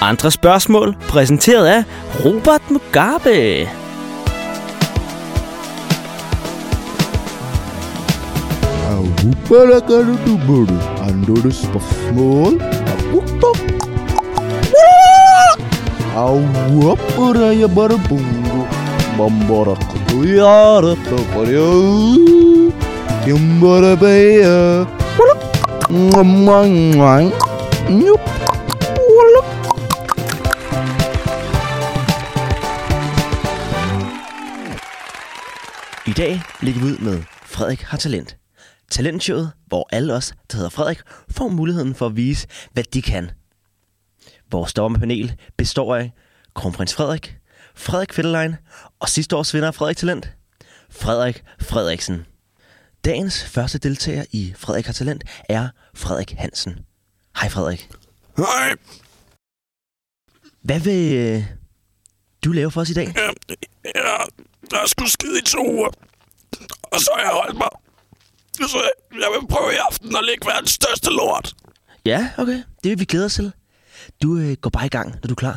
Andre spørgsmål præsenteret af Robert Mugabe. Andre spørgsmål. I dag ligger vi ud med Frederik har talent. Talentshowet, hvor alle os, der hedder Frederik, får muligheden for at vise, hvad de kan. Vores dommerpanel består af Kronprins Frederik, Frederik Fetterlein og sidste års vinder af Frederik Talent, Frederik Frederiksen. Dagens første deltager i Frederik har talent er Frederik Hansen. Hej Frederik. Hej. Hvad vil du lave for os i dag? Ja, der er sgu skide i 2 uger. Og så har jeg holdt mig. Så jeg vil prøve i aften at lægge verdens største lort. Ja, okay. Det vil vi glæde os til. Du går bare i gang, når du er klar.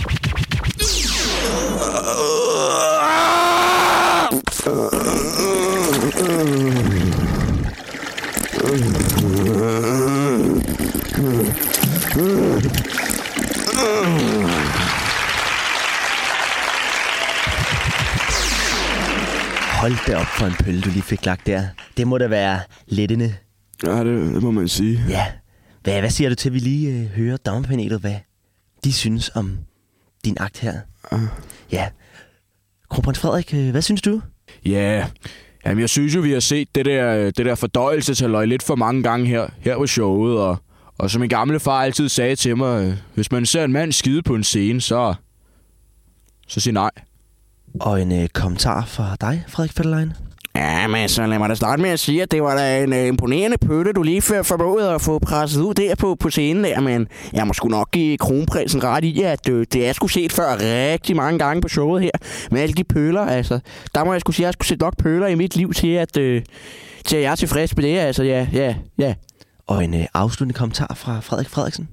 Hold da op for en pølle, du lige fik lagt der. Det må da være lettende. Ja, det må man sige. Ja. Hvad siger du til, at vi lige hører dommerpanelet, hvad de synes om din akt her? Ja. Kronprins Frederik, hvad synes du? Ja, jamen jeg synes jo, vi har set det der fordøjelseshalløj lidt for mange gange her på showet. Og som min gamle far altid sagde til mig, hvis man ser en mand skide på en scene, så sig nej. Og en kommentar fra dig, Frederik Fetterlein? Ja, men så lad mig da starte med at sige, at det var da en imponerende pølle, du lige formåede at få presset ud der på scenen der, men jeg må sgu nok give kronprinsen ret i, at det er sgu set før rigtig mange gange på showet her, med alle de pøller, altså. Der må jeg sgu sige, at jeg skulle sætte nok pøller i mit liv til, at jeg er tilfreds med det, altså, ja. Og en afsluttende kommentar fra Frederik Frederiksen?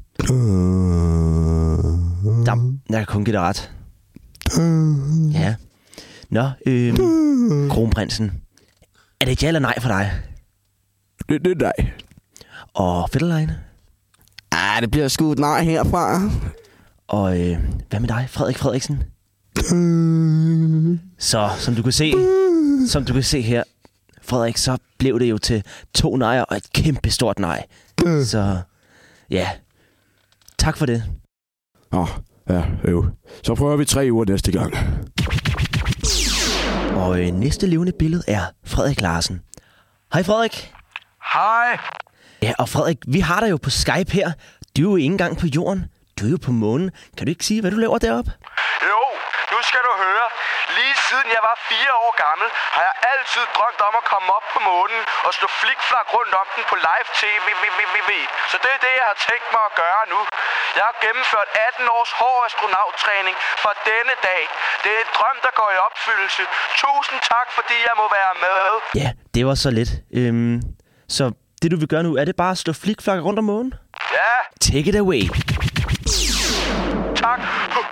Jeg kan kun give dig ret. Ja. Nå, kronprinsen. Er det et ja eller nej for dig? Det er nej. Og Fetterlein? Det bliver sgu et nej herfra. Og hvad med dig, Frederik Frederiksen? Så, som du kan se her, Frederik, så blev det jo til 2 nejer og et kæmpe stort nej. Så, ja. Tak for det. Ja, jo. Så prøver vi 3 uger næste gang. Og næste levende billede er Frederik Larsen. Hej Frederik. Hej. Ja, og Frederik, vi har dig jo på Skype her. Du er jo ikke engang på jorden. Du er jo på månen. Kan du ikke sige, hvad du laver deroppe? Jo, nu skal du høre. Lige siden jeg var 4 år gammel, har jeg altid drømt om at komme op på månen og slå flikflak rundt om den på live tv. Så det er det, jeg har tænkt mig at gøre nu. Jeg har gennemført 18 års hård astronauttræning for denne dag. Det er en drøm, der går i opfyldelse. Tusind tak, fordi jeg må være med. Ja, det var så lidt. Så det, du vil gøre nu, er det bare at slå flikflak rundt om månen? Ja. Take it away. Tak.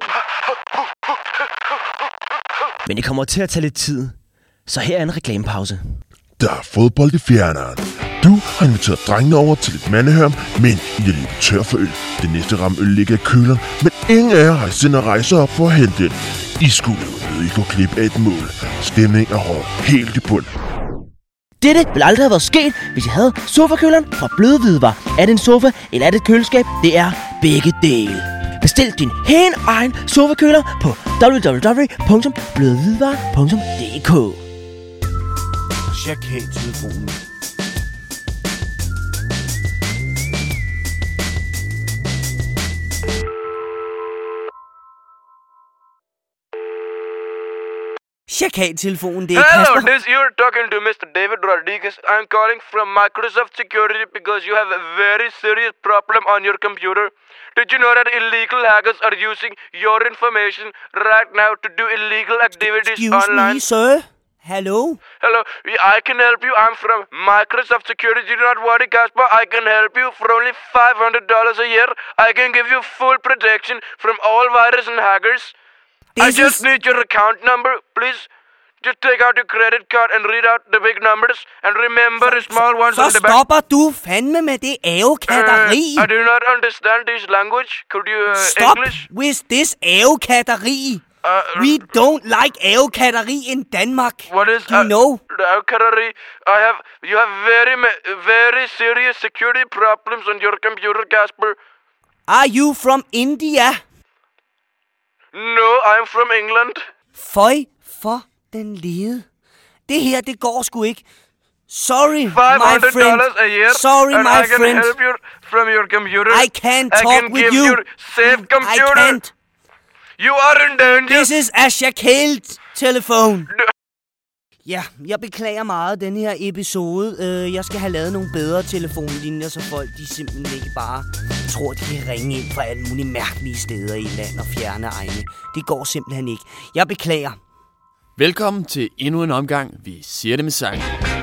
Men det kommer til at tage lidt tid. Så her er en reklamepause. Der er fodbold i fjerneren. Du har inviteret drengene over til et mandehørm, men I er lige tør for øl. Det næste ram øl ligger i køleren, men ingen af jer har sendt at rejse op for at hente den. I skulle jo ikke gå glip af et mål. Stemningen er hård, helt i bund. Dette ville aldrig have været sket, hvis jeg havde sofakøleren fra Bløde Hvidevarer. Er det en sofa, eller er det et køleskab? Det er begge dele. Bestil din helt egen sofakøler på www.blødehvidevarer.dk. Tjek helt telefonen. Chakal-telefonen, det er Hello, Kasper. you're talking to Mr. David Rodriguez. I'm calling from Microsoft Security because you have a very serious problem on your computer. Did you know that illegal hackers are using your information right now to do illegal activities Excuse online? me, sir. Hello? Hello, I can help you. I'm from Microsoft Security. Do not worry, Casper. I can help you for only $500 a year. I can give you full protection from all viruses and hackers. I just need your account number, please. Just take out your credit card and read out the big numbers. And remember the small ones on the back. Så stopper du fandme med det ævekatteri. I do not understand this language. Could you Stop English? with this ævekatteri. We don't like ævekatteri in Denmark. What is you know? The Alcatari? You have very serious security problems on your computer, Casper. Are you from India? No, I'm from England. Føj for den lede. Det her, det går sgu ikke. Sorry, my friend. $500 a year. Sorry, and my I can friend. help you from your computer. I can't talk with you. I can give you safe computer. I can't. You are in danger. This is a shackled telephone. Ja, jeg beklager meget den her episode. Jeg skal have lavet nogle bedre telefonlinjer, så folk de simpelthen ikke bare tror, de kan ringe ind fra alle mulige mærkelige steder i land og fjerne egne. Det går simpelthen ikke. Jeg beklager. Velkommen til endnu en omgang. Vi siger det med sang.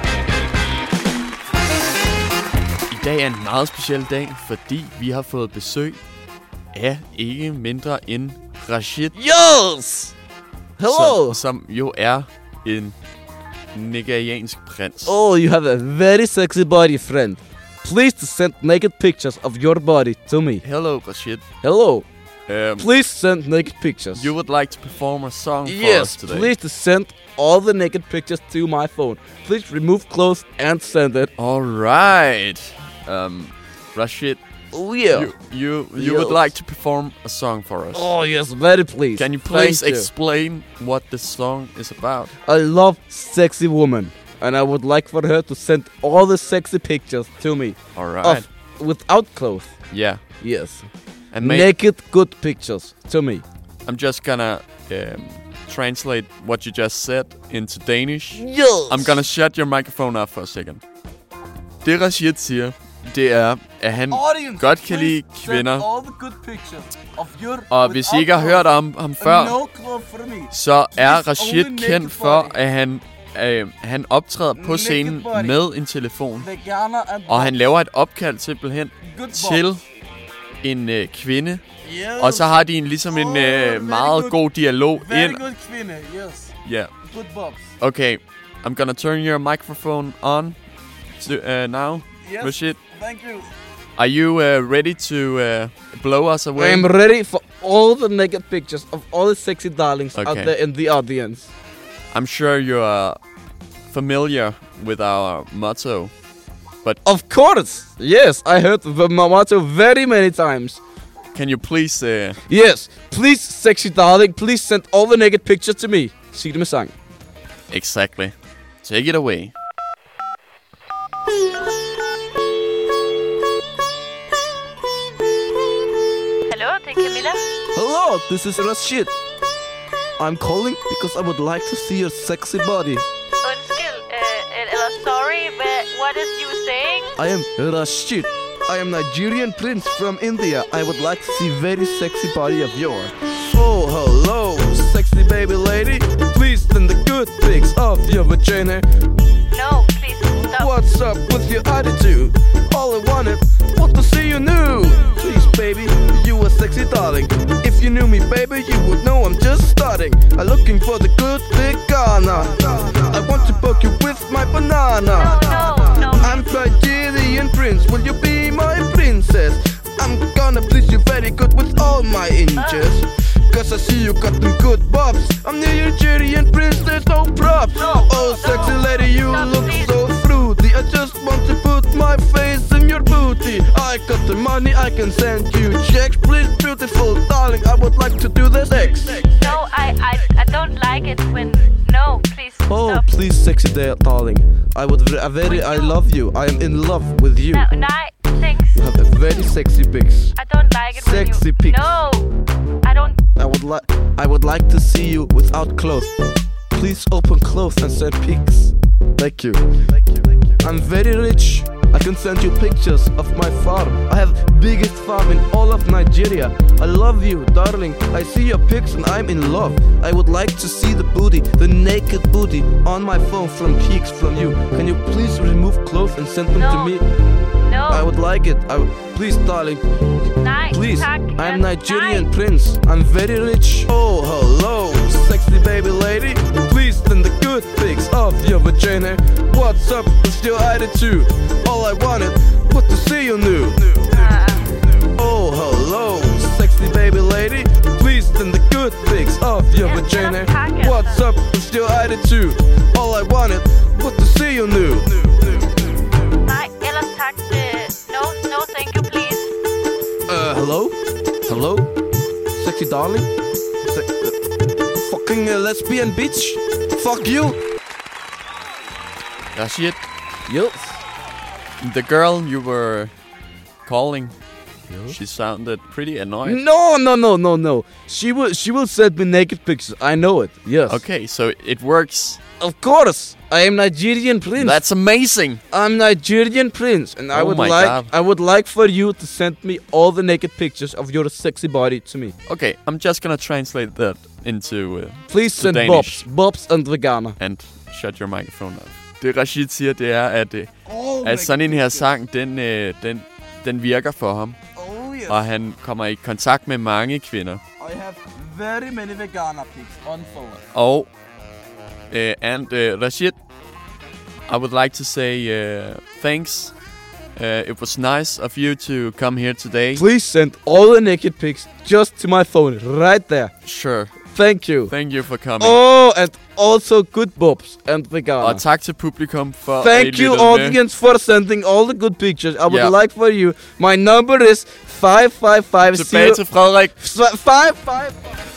I dag er en meget speciel dag, fordi vi har fået besøg af ikke mindre end Rashid. Yes! Hello! Som jo er en nigeriansk prins. Oh, you have a very sexy body, friend. Please to send naked pictures of your body to me. Hello, Rashid. Hello. Please send naked pictures. You would like to perform a song for us today? Yes, please to send all the naked pictures to my phone. Please remove clothes and send it. All right. Rashid. Oh, yeah. You would like to perform a song for us? Oh, yes, very please. Can you please explain what the song is about? I love sexy women, and I would like for her to send all the sexy pictures to me. All right. Without clothes. Yeah. Yes. And naked good pictures to me. I'm just gonna translate what you just said into Danish. Yes. I'm gonna shut your microphone off for a second. Det Rashid siger, det er, at han godt kan lide kvinder. Og hvis I ikke har hørt om ham før, så er Rashid kendt for, at han optræder på scenen med en telefon. Og han laver et opkald simpelthen til en kvinde. Og så har de ligesom en meget god dialog ind. Yeah. Okay, I'm gonna turn your microphone on now. Yes, Rashid. thank you. Are you ready to blow us away? I'm ready for all the naked pictures of all the sexy darlings out there in the audience. I'm sure you are familiar with our motto, but of course, yes, I heard the motto very many times. Can you please? Yes, please, sexy darling, please send all the naked pictures to me. Sig det med sang. Exactly. Take it away. Hello, det er Camilla. Hello, this is Rashid. I'm calling because I would like to see your sexy body. Undskyld, eller sorry, but what is you saying? I am Rashid. I am Nigerian prince from India. I would like to see very sexy body of yours. Oh, hello, sexy baby lady. Please send the good pics of your vagina. No, please stop. What's up with your attitude? All I wanted was to see you new. Please, baby, you a sexy darling. If you knew me, baby, you would know I'm just starting. I'm looking for the good big Ghana. I want to poke you with my banana. No. I'm Nigerian prince. Will you be my princess? I'm gonna please you very good with all my inches. Cause I see you got them good bobs. I'm the Nigerian prince, there's no props. Oh, sexy lady, you look so fruity. I just want to put my face in your booty. I got the money, I can send you checks. Please, beautiful darling, I would like to do the sex. No, I don't like it when... No, please stop. Oh, please, sexy darling. I love you. I am in love with you. No, thanks. You have a very sexy pics. I don't like it sexy when pics. No, I don't... I would like to see you without clothes. Please open clothes and send pics. Thank you. I'm very rich. I can send you pictures of my farm. I have biggest farm in all of Nigeria. I love you, darling. I see your pics and I'm in love. I would like to see the booty, the naked booty on my phone from pics from you. Can you please remove clothes and send them to me? No. I would like it. Please, darling. Nej, Please. tak. I'm Nigerian prince. I'm very rich. Oh, hello, sexy baby lady. Please send the good pics of your vagina. What's up with your attitude? All I wanted was to see you nude. Oh, hello, sexy baby lady. Please send the good pics of your vagina. What's up with your attitude? All I wanted was to see you nude. Nej, ellers tak. No, thank you, please. Hello? Sexy darling? Fucking lesbian bitch? Fuck you! Rashid, Yes? the girl you were calling, she sounded pretty annoyed. No. She will send me naked pictures. I know it. Yes. Okay, so it works. Of course. I am Nigerian prince. That's amazing. I'm Nigerian prince, and I would like for you to send me all the naked pictures of your sexy body to me. Okay, I'm just gonna translate that into Please send Danish. Bobs and Vegana. And shut your microphone off. Det Rashid siger, det er, at sådan en her sang, den virker for ham. Oh yes. Og han kommer i kontakt med mange kvinder. I have very many Vegana pics on phone. Og Rashid, I would like to say thanks. It was nice of you to come here today. Please send all the naked pics just to my phone right there. Sure. Thank you. Thank you for coming. Oh, and also good Bobs and Vegana. Og tak til publikum for Thank you, audience, for sending all the good pictures. I would like for you. My number is 5550. Tilbage til Frederik. 55.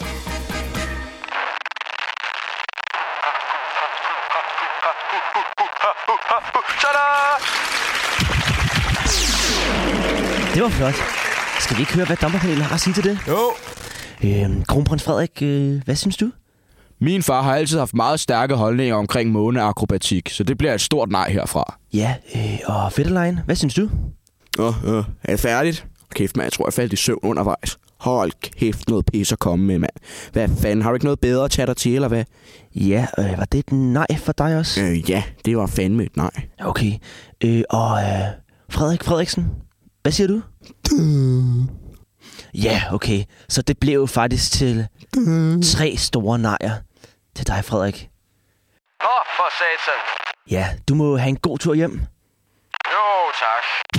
Det var flot. Skal vi ikke høre, hvad dommerpanelet har at sige til det? Jo. Kronprins Frederik, hvad synes du? Min far har altid haft meget stærke holdninger omkring måneakrobatik, så det bliver et stort nej herfra. Ja, og Fetterlein, hvad synes du? Er det færdigt? Kæft, mand, jeg tror, jeg faldt i søvn undervejs. Hold kæft, noget pis at komme med, mand. Hvad fanden, har du ikke noget bedre at tage dig til, eller hvad? Ja, var det et nej for dig også? Ja, det var fandme et nej. Okay, og Frederik Frederiksen, hvad siger du? Ja, okay, så det blev jo faktisk til 3 store nejer til dig, Frederik. For satan. Ja, du må have en god tur hjem. Jo, tak.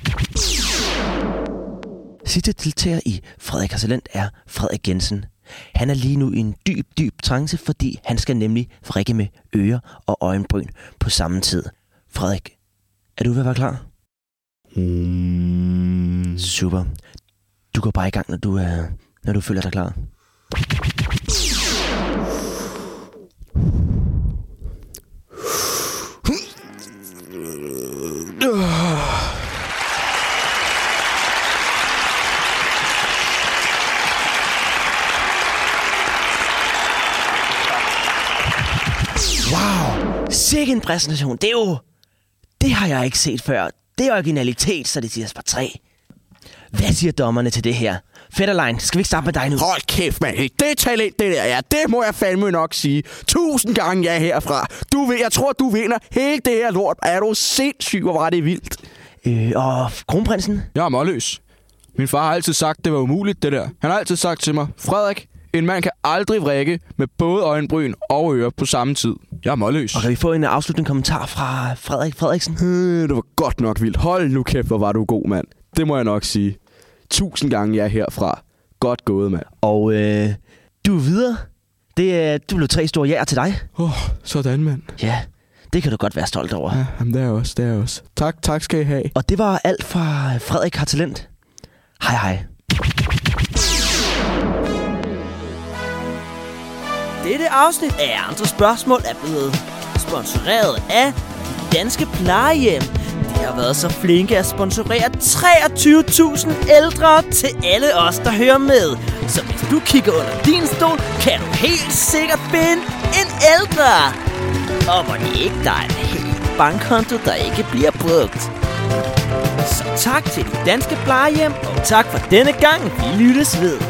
Sidste deltager i Frederik har Talent er Frederik Jensen. Han er lige nu i en dyb trance, fordi han skal nemlig vrikke med ører og øjenbryn på samme tid. Frederik, er du ved at være klar? Super. Du går bare i gang, når du føler dig klar. Wow, sikke en præsentation. Det har jeg ikke set før. Det er originalitet, så det siger bare 3. Hvad siger dommerne til det her? Fetterlein, skal vi ikke starte med dig nu? Hold kæft, mand. Det talent, det der, ja. Det må jeg fandme nok sige. 1000 gange ja herfra. Jeg tror, du vinder hele det her lort. Er du sindssyg, hvor var det vildt? Og kronprinsen? Jeg er målløs. Min far har altid sagt, det var umuligt, det der. Han har altid sagt til mig, Frederik, en mand kan aldrig vrikke med både øjenbryn og ører på samme tid. Jeg er målløs. Og kan vi få en afsluttende kommentar fra Frederik Frederiksen? Det var godt nok vildt. Hold nu kæft, hvor var du god, mand. Det må jeg nok sige. 1000 gange ja herfra. Godt gået, mand. Og du er videre. Du blev 3 store ja'er til dig. Sådan, mand. Ja, det kan du godt være stolt over. Ja, jamen, det er også. Tak skal I have. Og det var alt fra Frederik har Talent. Hej. Dette afsnit af Andre Spørgsmål er blevet sponsoreret af Danske Plejehjem. De har været så flinke at sponsorere 23.000 ældre til alle os, der hører med. Så hvis du kigger under din stol, kan du helt sikkert finde en ældre. Og hvor det ikke dig er helt bankkonto, der ikke bliver brugt. Så tak til de danske plejehjem, og tak for denne gang. Vi lyttes ved.